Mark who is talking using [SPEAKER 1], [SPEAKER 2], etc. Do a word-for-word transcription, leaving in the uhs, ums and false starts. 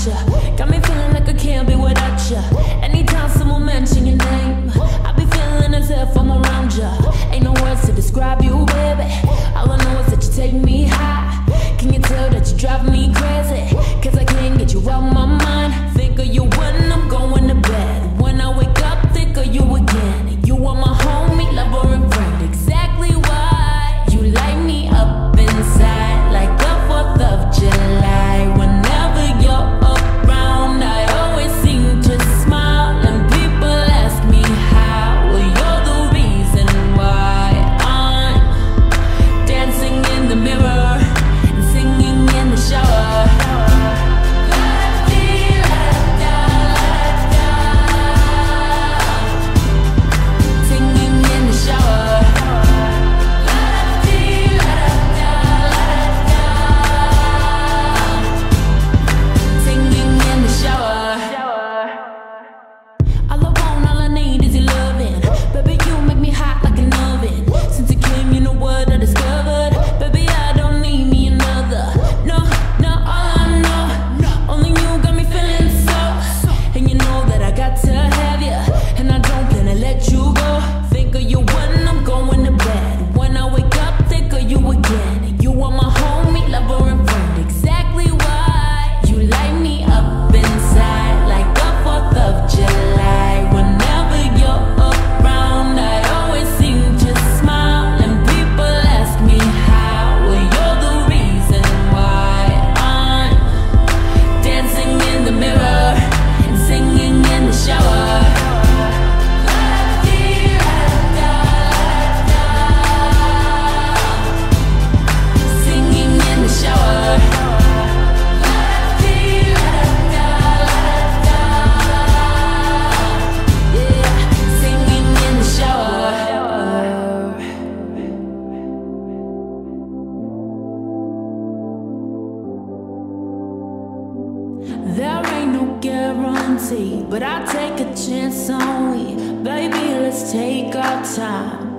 [SPEAKER 1] ya. Got me feeling like I can't be without ya. Anytime someone mention your name, I be feeling as if I'm around ya. Ain't no words to describe you, baby. All I know is that you take me high. Can you tell that you drive me crazy? Cause I can't get you out my mind. Think of you when I'm going to bed. When I wake up, think of you again. You are my homie, lover and friend. Exactly why you light me up inside like the fourth of July. Whenever you're around, I always seem to smile. And people ask me how. Well, you're the reason why I'm dancing in the mirror and singing in the shower. There ain't no guarantee, but I take a chance on we. Baby, let's take our time.